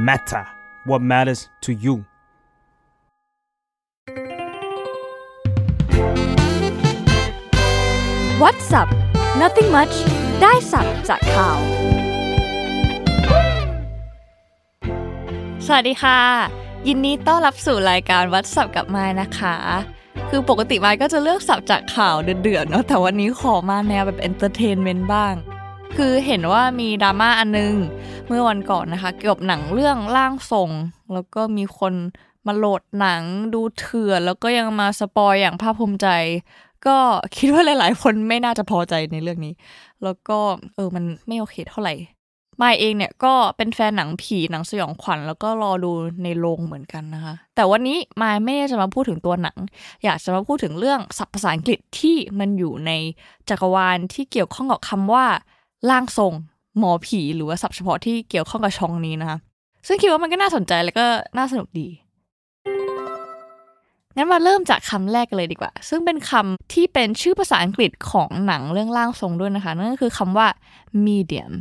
matter what matters to you What's up Nothing much ได้สับจากข่าวสวัสดีค่ะยินดีต้อนรับสู่รายการ What's up กับมายนะคะคือปกติมายก็จะเลือกสับจากข่าวเดือดๆเนาะแต่วันนี้ขอมาแนวแบบเอนเตอร์เทนเมนต์บ้างคือเห็นว่ามีดราม่าอันนึงเมื่อวันก่อนนะคะเกี่ยวกับหนังเรื่องร่างทรงแล้วก็มีคนมาโหลดหนังดูเถื่อนแล้วก็ยังมาสปอยอย่างภาคภูมิใจก็คิดว่าหลายๆคนไม่น่าจะพอใจในเรื่องนี้แล้วก็มันไม่โอเคเท่าไหร่มายเองเนี่ยก็เป็นแฟนหนังผีหนังสยองขวัญแล้วก็รอดูในโรงเหมือนกันนะคะแต่วันนี้มายไม่ได้จะมาพูดถึงตัวหนังอยากจะมาพูดถึงเรื่องศัพท์ภาษาอังกฤษที่มันอยู่ในจักรวาลที่เกี่ยวข้องกับคำว่าร่างทรงหมอผีหรือว่าศัพท์เฉพาะที่เกี่ยวข้องกับช่องนี้นะคะซึ่งคิดว่ามันก็น่าสนใจแล้วก็น่าสนุกดีงั้นมาเริ่มจากคำแรกกันเลยดีกว่าซึ่งเป็นคำที่เป็นชื่อภาษาอังกฤษของหนังเรื่องร่างทรงด้วยนะคะนั่นก็คือคำว่า medium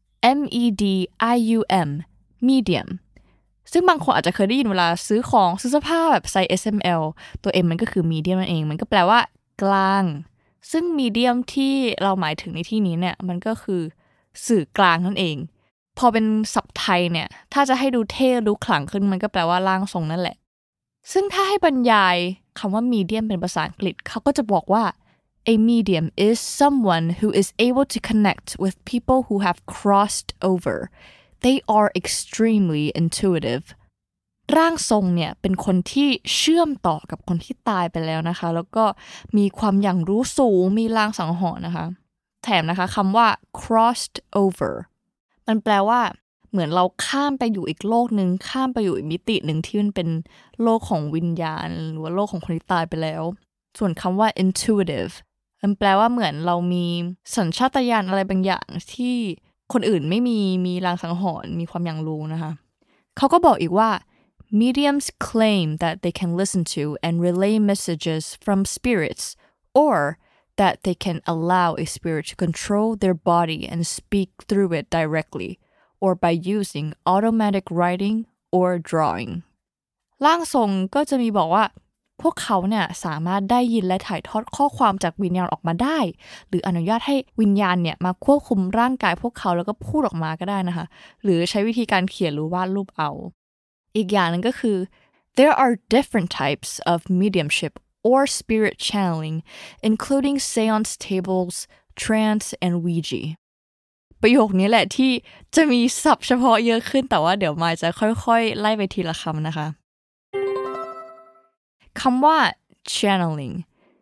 medium medium ซึ่งบางคนอาจจะเคยได้ยินเวลาซื้อของซื้อเสื้อผ้าแบบไซส์ SML ตัว M มันก็คือ medium นั่นเองมันก็แปลว่ากลางซึ่ง medium ที่เราหมายถึงในที่นี้เนี่ยมันก็คือสื่อกลางนั่นเองพอเป็นศัพท์ไทยเนี่ยถ้าจะให้ดูเท่ดูขลังขึ้นมันก็แปลว่าร่างทรงนั่นแหละซึ่งถ้าให้บรรยายคำว่า medium เป็นภาษาอังกฤษเขาก็จะบอกว่า A medium is someone who is able to connect with people who have crossed over. They are extremely intuitive. ร่างทรงเนี่ยเป็นคนที่เชื่อมต่อกับคนที่ตายไปแล้วนะคะแล้วก็มีความอย่างรู้สูงมีลางสังหรณ์นะคะแถมนะคะคำว่า crossed over มันแปลว่าเหมือนเราข้ามไปอยู่อีกโลกนึงข้ามไปอยู่อีกมิตินึงที่มันเป็นโลกของวิญญาณหรือว่าโลกของคนที่ตายไปแล้วส่วนคำว่า intuitive มันแปลว่าเหมือนเรามีสัญชาตญาณอะไรบางอย่างที่คนอื่นไม่มีลางสังหรณ์มีความอย่างรู้นะคะเขาก็บอกอีกว่า mediums claim that they can listen to and relay messages from spirits or that they can allow a spirit to control their body and speak through it directly or by using automatic writing or drawing ร่างทรงก็จะมีบอกว่าพวกเขาเนี่ยสามารถได้ยินและถ่ายทอดข้อความจากวิญญาณออกมาได้หรืออนุญาตให้วิญญาณเนี่ยมาควบคุมร่างกายพวกเขาแล้วก็พูดออกมาก็ได้นะคะหรือใช้วิธีการเขียนหรือวาดรูปเอาอีกอย่างนึงก็คือ there are different types of mediumship or spirit channeling including seance tables trance and Ouijaประโยคนี้แหละที่จะมีศัพท์เฉพาะเยอะขึ้นแต่ว่าเดี๋ยวมายจะค่อยๆไล่ไปทีละคำนะคะคำว่า channeling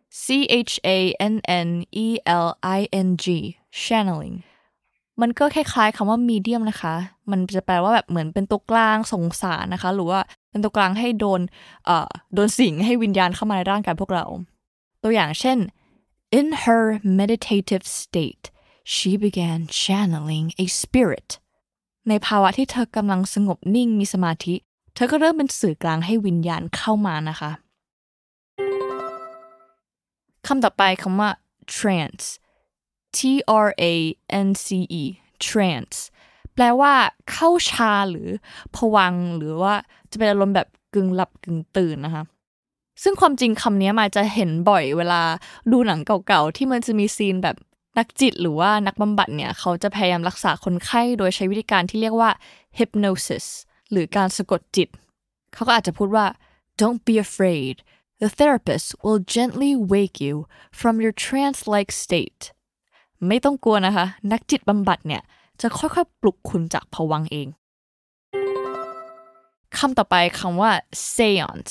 channeling channeling มันก็คล้ายๆคำว่า medium นะคะมันจะแปลว่าแบบเหมือนเป็นตัวกลางส่งสารนะคะหรือว่าเป็นตัวกลางให้โดนสิงให้วิญญาณเข้ามาในร่างกายพวกเราตัวอย่างเช่น in her meditative state she began channeling a spirit ในภาวะที่เธอกำลังสงบนิ่งมีสมาธิเธอก็เริ่มเป็นสื่อกลางให้วิญญาณเข้ามานะคะคำต่อไปคำว่า trance trance trance แปลว่าเข้าฌานหรือภวังค์หรือว่าจะเป็นอารมณ์แบบกึ่งหลับกึ่งตื่นนะคะซึ่งความจริงคำนี้มาจะเห็นบ่อยเวลาดูหนังเก่าๆที่มันจะมีซีนแบบนักจิตหรือว่านักบำบัดเนี่ยเขาจะพยายามรักษาคนไข้โดยใช้วิธีการที่เรียกว่า hypnosis หรือการสะกดจิตเขาก็อาจจะพูดว่า don't be afraid the therapist will gently wake you from your trance-like state ไม่ต้องกลัวนะคะนักจิตบำบัดเนี่ยจะค่อยๆปลุกคุณจากภวังค์เองคำต่อไปคำว่า seance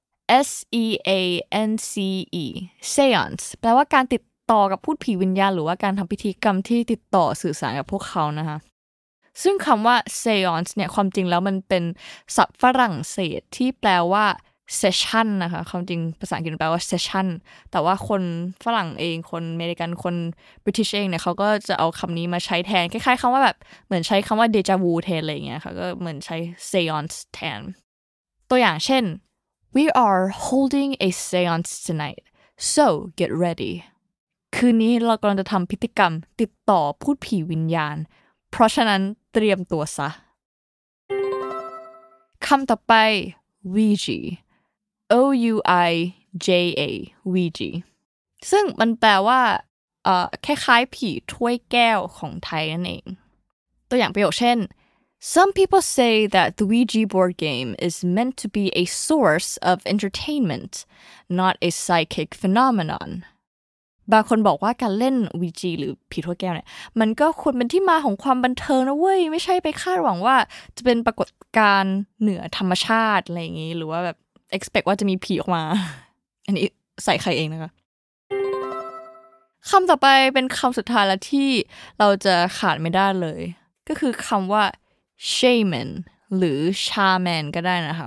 seance แปลว่าการติดต่อกับพูดผีวิญญาณหรือว่าการทำพิธีกรรมที่ติดต่อสื่อสารกับพวกเขานะคะซึ่งคำว่า seance เนี่ยความจริงแล้วมันเป็นศัพท์ฝรั่งเศสที่แปลว่า session นะคะความจริงภาษาอังกฤษแปลว่า session แต่ว่าคนฝรั่งเองคนอเมริกันคนบริติชเองเนี่ยเขาก็จะเอาคำนี้มาใช้แทนคล้ายๆคำว่าแบบเหมือนใช้คำว่า déjà vu แทนอะไรอย่างเงี้ยค่ะก็เหมือนใช้ seance แทนตัวอย่างเช่น we are holding a seance tonight so get ready คืนนี้เรากำลังจะทำพิธีกรรมติดต่อพูดผีวิญญาณเพราะฉะนั้นเตรียมตัวซะคำต่อไป Ouija O-U-I-J-A Ouija ซึ่งมันแปลว่าคล้ายๆผีถ้วยแก้วของไทยนั่นเองตัวอย่างประโยคเช่น Some people say that the Ouija board game is meant to be a source of entertainment, not a psychic phenomenon. บางคนบอกว่าการเล่น Ouija หรือผีถ้วยแก้วเนี่ยมันก็ควรเป็นที่มาของความบันเทิงนะเว้ยไม่ใช่ไปคาดหวังว่าจะเป็นปรากฏการณ์เหนือธรรมชาติอะไรอย่างงี้หรือว่าแบบ expect ว่าจะมีผีออกมา อันนี้ใส่ใครเองนะคะคำต่อไปเป็นคำสุดท้ายแล้วที่เราจะขาดไม่ได้เลยก็คือคำว่า shaman หรือ shaman ก็ได้นะคะ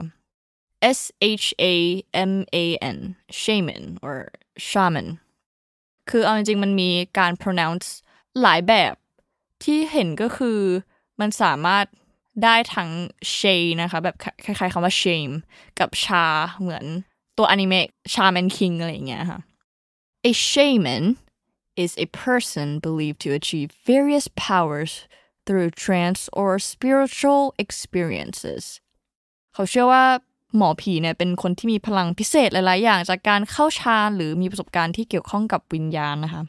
S-H-A-M-A-N shaman or shaman คือเอาจริงๆมันมีการ pronounce หลายแบบที่เห็นก็คือมันสามารถได้ทั้ง shay นะคะแบบคล้ายๆคำว่า shame กับ sha เหมือนตัวอนิเมะ Shaman King อะไรอย่างเงี้ยค่ะ A shaman is a person believed to achieve various powers through trance or spiritual experiences เขาเชื่อว่าหมอผีเนี่ยเป็นคนที่มีพลังพิเศษหลายๆอย่างจากการเข้าฌานหรือมีประสบการณ์ที่เกี่ยวข้องกับวิญญาณนะคะ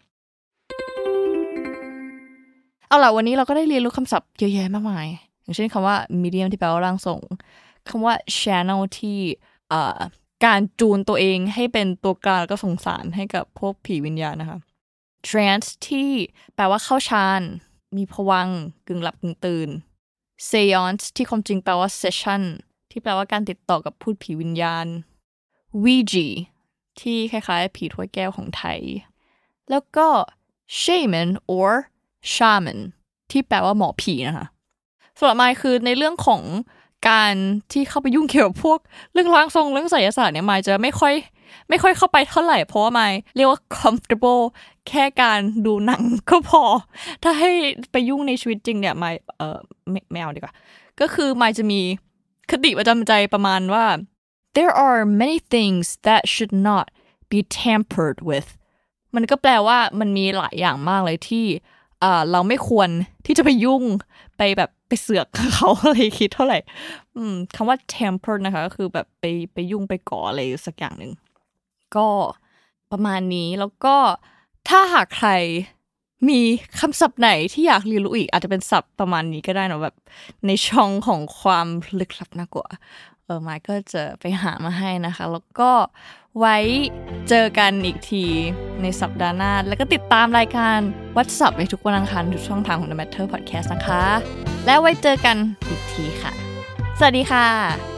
เอาล่ะวันนี้เราก็ได้เรียนรู้คำศัพท์เยอะแยะมากมายอย่างเช่นคำว่า medium ที่แปลว่าร่างทรงคำว่า channel ที่การจูนตัวเองให้เป็นตัวกลางแล้วก็ส่งสารให้กับพวกผีวิญญาณนะคะ trance ที่แปลว่าเข้าฌานมีภวังค์กึ่งหลับกึ่งตื่น seance ที่ความจริงแปลว่า session ที่แปลว่าการติดต่อกับพูดผีวิญญาณ Ouija ที่คล้ายๆผีถ้วยแก้วของไทยแล้วก็ shaman or shaman ที่แปลว่าหมอผีนะคะสำหรับมายคือในเรื่องของการที่เข้าไปยุ่งเกี่ยวกับพวกเรื่องร่างทรงเรื่องไสยศาสตร์เนี่ยมายจะไม่ค่อยเข้าไปเท่าไหร่เพราะว่ามายเรียกว่า comfortable แค่การดูหนังก็พอถ้าให้ไปยุ่งในชีวิตจริงเนี่ยมายไม่เอาดีกว่าก็คือมายจะมีคติประจำใจประมาณว่า there are many things that should not be tampered with มันก็แปลว่ามันมีหลายอย่างมากเลยที่เราไม่ควรที่จะไปยุ่งไปเสือกเขาอะไรคิดเท่าไหร่คำว่า tampered นะคะก็คือแบบไปยุ่งไปก่ออะไรสักอย่างหนึ่งก็ประมาณนี้แล้วก็ถ้าหากใครมีคำศัพท์ไหนที่อยากเรียนรู้อีกอาจจะเป็นศัพท์ประมาณนี้ก็ได้นะแบบในช่องของความลึกลับน่ากลัวมายก็จะไปหามาให้นะคะแล้วก็ไว้เจอกันอีกทีในสัปดาห์หน้าแล้วก็ติดตามรายการวัดศัพท์ในทุกวันอังคารทุกช่องทางของ The Matter Podcast นะคะแล้วไว้เจอกันอีกทีค่ะสวัสดีค่ะ